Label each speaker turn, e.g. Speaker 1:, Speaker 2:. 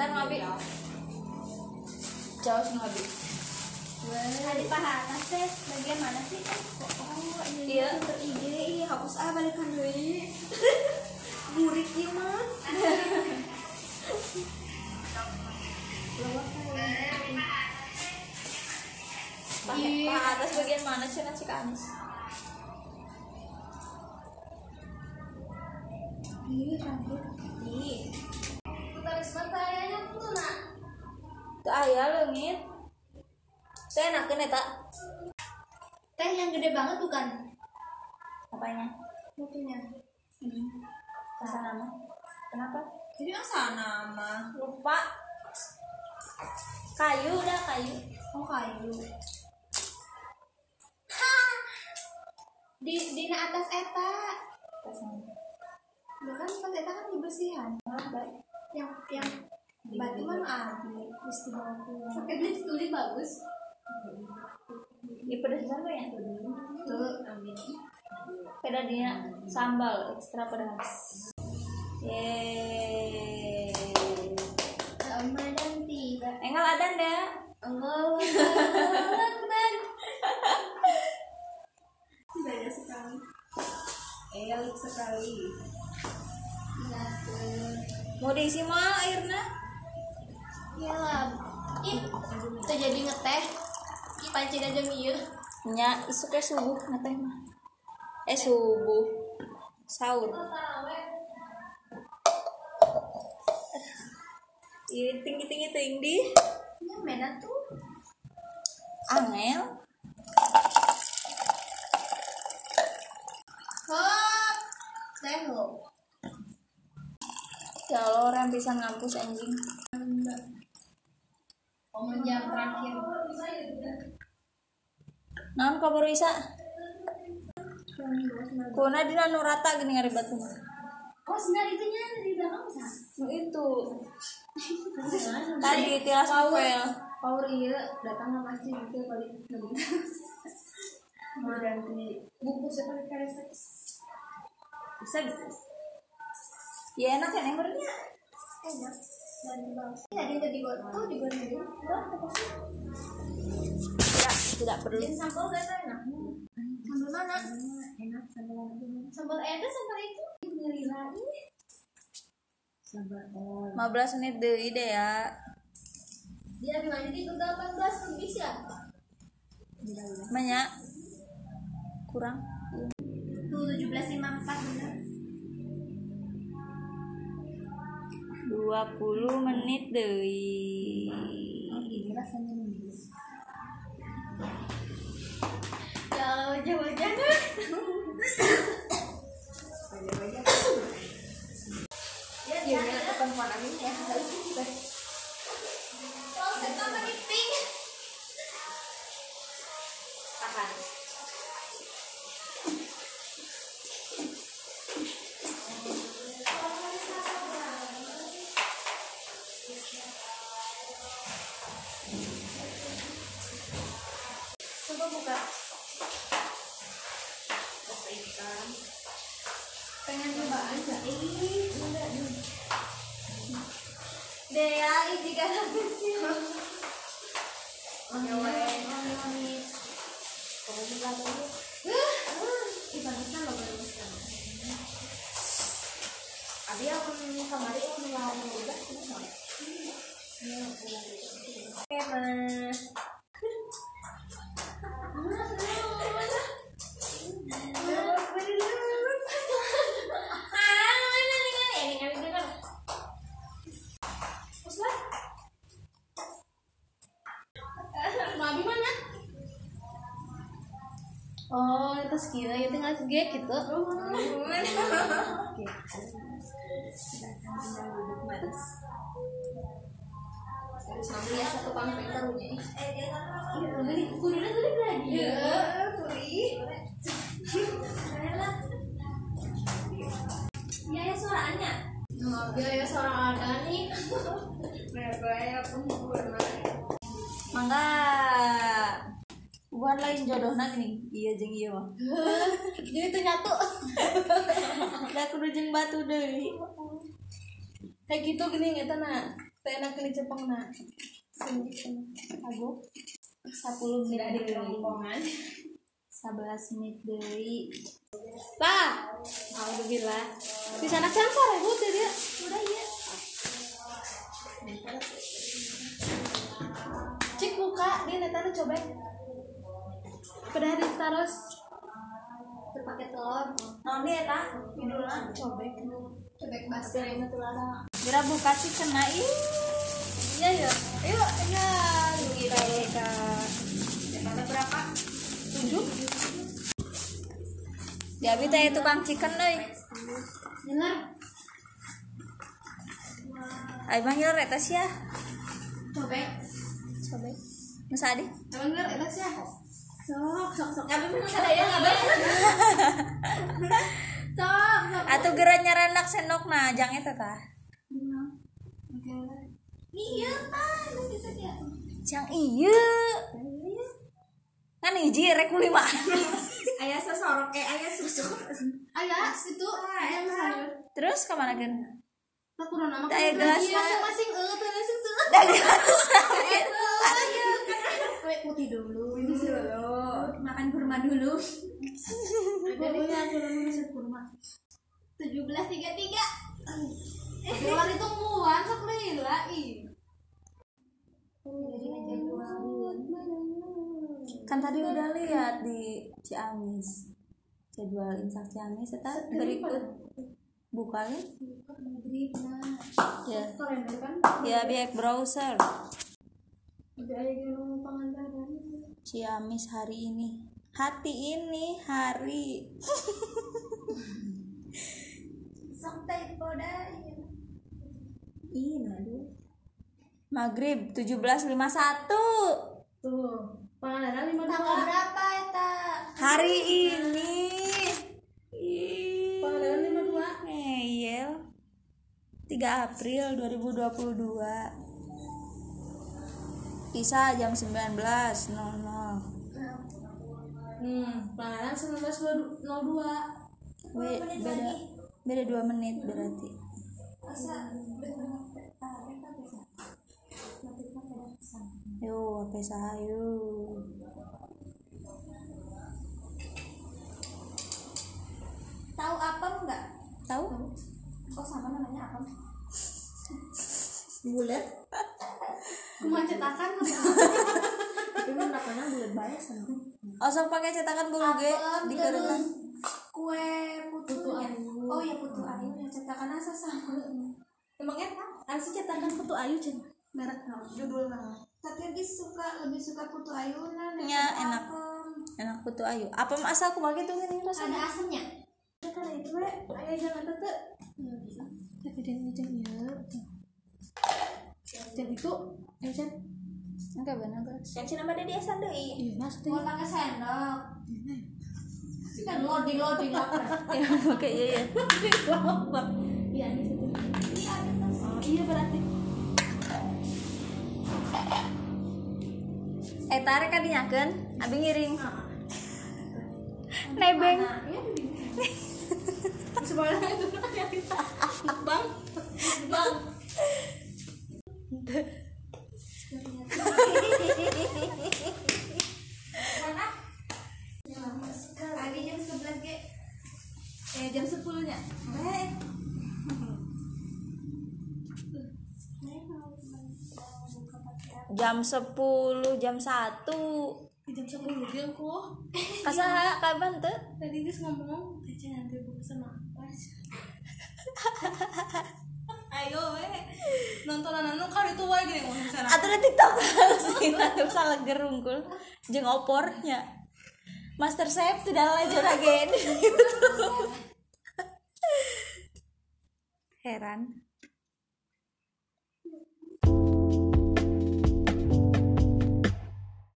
Speaker 1: Ntar ngabi. Jauh sih ngabi.
Speaker 2: Ada paha atas teh bagian mana sih? Oh,
Speaker 1: Iya.
Speaker 2: Ide hapus balikan deui. Burik ieu mah.
Speaker 1: Paha atas bagian mana sih nasi Anis?
Speaker 2: Ih, rambut. Ih. Taris mata ayahnya tuh nak.
Speaker 1: Teu aya leungit. Teh enakeun eta.
Speaker 2: Teh yang gede banget bukan?
Speaker 1: Apanya?
Speaker 2: Mutunya.
Speaker 1: Kesana mah. Kenapa?
Speaker 2: Jadi asana mah.
Speaker 1: Lupa. Kayu udah kayu.
Speaker 2: Oh, kayu. Ha. Di atas eta. Bukan pas eta kan dibersihan. Yang batu mah abi terus dibawa pulang. Pakai beli tulis bagus.
Speaker 1: Di pedesan tuh ya?
Speaker 2: Tuh, amin.
Speaker 1: Beda dia sambal ekstra pedas. Yeay.
Speaker 2: Ramadan tiba.
Speaker 1: Enggak ada ndak?
Speaker 2: Allahu Akbar. Banyak sekali. Elit sekali.
Speaker 1: Mau diisi mal airnya?
Speaker 2: Ya lah. Ih, teu jadi ngeteh. Ih, panci aja ieu.
Speaker 1: Nya isu ke subuh ngeteh mah. Subuh. Sahur. Ini tinggi-tinggi teuing di.
Speaker 2: Ya mena tuh.
Speaker 1: Angel.
Speaker 2: Hop. Seho.
Speaker 1: Ya Allah, orang bisa ngampus anjing.
Speaker 2: Momen jam terakhir.
Speaker 1: Naon kabar Isa? Kuna dina nu rata gini ngaribat mah.
Speaker 2: Oh, sebenarnya itu nya di belakang sah.
Speaker 1: Nu itu. Tadi tilas novel.
Speaker 2: Power iya datang sama masjid itu kali ganti buku seperti karet. Bisa.
Speaker 1: Ya enak kan embernya.
Speaker 2: Enak. Dan bang. Ini ada di gua tuh di gua ini. Wah, apa sih?
Speaker 1: Tidak perlu.
Speaker 2: Jadi sambal gak enak. Sambal mana? Enak sambal apa? Sambal ada sambal itu. Ngelila ini. Sambal
Speaker 1: 15 menit deui deh ya.
Speaker 2: Dia gimana di 18 lebih sih ya?
Speaker 1: Banyak. Kurang.
Speaker 2: Tuh 17.54 benar.
Speaker 1: 20 menit deui.
Speaker 2: Ini rasanya nih. Ya jangan. Ya kapan ini ya hari ini deh. Kalau kita meeting. Tahan. Coba buka. Ikan. Pengen cobaan nggak? Enggak nih. Dea, ini kan kecil. Wangi. Kamu buka dulu. Bagusnya loh bagusnya. Abi yang kemarin yang mengalami udah semua. Mas. Oh, itu sekira itu nggak segede gitu. Sambil satu panggung karunya. Kulitnya tuh lagi. Ya, kulit. Ya suaranya. Ya suara ada nih.
Speaker 1: Mangga. Bukan lain jodohna gini. Iya jeung ieu mah.
Speaker 2: Jadi itu nyatu.
Speaker 1: Da kudu jeung batu deui.
Speaker 2: Kayak gitu gini eta na. Tenak di Jepang na. Aku 10 menit di rombongan.
Speaker 1: 11 menit deui.
Speaker 2: Pak, alhamdulillah. Di sana kan sore bu dia. Udah ya. Cek buka dia netana coba. Pada hari terus
Speaker 1: Terpakai telur. Naon dia eta? Judulna
Speaker 2: cobek. Cobek basah ini tulana.
Speaker 1: Geura buka sih kena ih.
Speaker 2: Iya ya. Ayo ya.
Speaker 1: Kita ka.
Speaker 2: Ada berapa? 7.
Speaker 1: Di abi teh tukang chicken euy.
Speaker 2: Benar.
Speaker 1: Ai mah ngiler eta sia.
Speaker 2: Cobek.
Speaker 1: Coba. Masa adi?
Speaker 2: Emang bener eta sih. Sok.
Speaker 1: Abi mah sadaya ngabe.
Speaker 2: Sok.
Speaker 1: Atuh geura nyaranak sendokna jang eta tah.
Speaker 2: Iya, Pak. Itu bisa dia.
Speaker 1: Jang ieu. Kan hiji rek 5.
Speaker 2: Ayah sesorok ayah susu. Ayah situ ayah sayur.
Speaker 1: Terus ka mana geun?
Speaker 2: Tak kurang nama
Speaker 1: Aya gelas
Speaker 2: masing-masing teh susu.
Speaker 1: Da gelas.
Speaker 2: Putih dulu. Makan kurma dulu. Pokoknya aku ngasih kurma. 17.33. Keluar itu muan sok lila ih.
Speaker 1: Kan tadi udah lihat di Ciamis. Jadwal Imsak Ciamis eta berikut. Buka ya? Ya. Ya biak browser. Ciamis hari ini. Hati ini hari.
Speaker 2: Sampai pada
Speaker 1: Maghrib 17.51.
Speaker 2: tuh. Panganan 52. Tanggal berapa eta?
Speaker 1: Hari ini.
Speaker 2: Panganan 52.
Speaker 1: Ngeyel. 3 April 2022. Isa jam 19.00.
Speaker 2: Panganan 19.02.
Speaker 1: Beda 2 menit berarti. Yo, apa sahayu?
Speaker 2: Tahu apa enggak?
Speaker 1: Tahu?
Speaker 2: Kok sama namanya apa? Bulat. Cuma cetakan tapi mah nakana bulat bae sama.
Speaker 1: Osok pakai cetakan bulu ge di kerenan.
Speaker 2: Kue putu ayu. Oh ya putu ayu yang cetakan asa sama. Emang eta? Asa cetakan putu ayu cenah. Merek naon? Judul naon? Tapi lebih suka putu ayunan.
Speaker 1: Ya enak. Enak putu ayu. Apa asal aku pakai tuh ini rasanya?
Speaker 2: Ada asamnya. Karena itu ayah jangan tete. Tapi dia ngejengnya. Jam itu, Encen.
Speaker 1: Enggak benar guys.
Speaker 2: Encen nama dia sendiri.
Speaker 1: Iya maksudnya.
Speaker 2: Mau pakai sendok. Kan loading lapar.
Speaker 1: Ya oke iya.
Speaker 2: Lapar. Iya di situ. Ini ada tas. Oh iya berarti.
Speaker 1: Tarik kan dinyakeun, abi ngiring. Nebeng.
Speaker 2: Sebenarnya itu bang. Abi jam 11 ge. Jam 10-nya.
Speaker 1: Jam 10, jam 1.
Speaker 2: Jam 10 dia kok.
Speaker 1: Kasaha kapan tuh?
Speaker 2: Tadi geus ngomong, teh nanti buka sama apa? Ayo nontonan anu kan itu wae gini ngomong sana.
Speaker 1: Atuh TikTok sih atuh salah gerungkul jeung opornya. Master Chef tidak lanjut lagi. Heran.